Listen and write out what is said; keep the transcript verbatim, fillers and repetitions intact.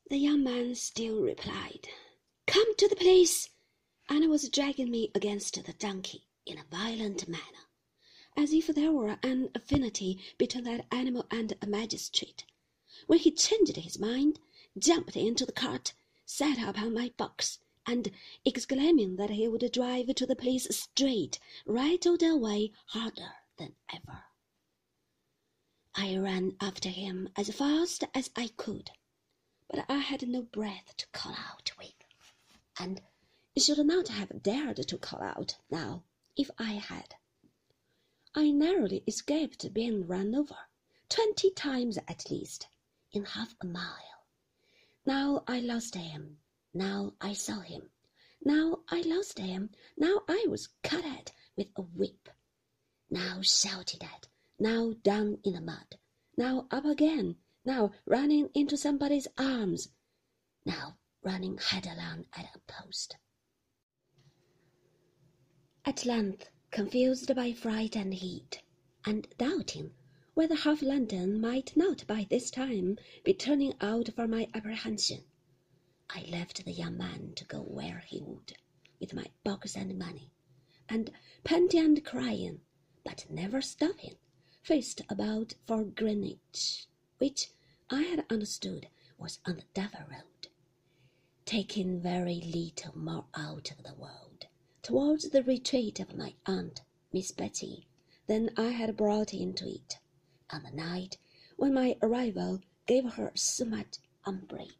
The young man still replied, "Come to the place," and was dragging me against the donkey in a violent manner, as if there were an affinity between that animal and a magistrate, when he changed his mind, jumped into the cart, sat upon my box, and, exclaiming that he would drive to the place straight, rattled away harder than ever. I ran after him as fast as I could, but I had no breath to call out with, and should not have dared to call out now if I had. I narrowly escaped being run over, twenty times at least, in half a mile. Now I lost him, now I saw him, now I lost him, now I was cut at with a whip, now shouted at, now down in the mud, now up again, now running into somebody's arms, now running headlong at a post. At length, confused by fright and heat, and doubting whether half London might not by this time be turning out for my apprehension, I left the young man to go where he would, with my box and money, and panting and crying, but never stopping, faced about for Greenwich, which I had understood was on the Dover Road, taking very little more out of the world towards the retreat of my aunt, Miss Betty, than I had brought into it on the night when my arrival gave her so much umbrage.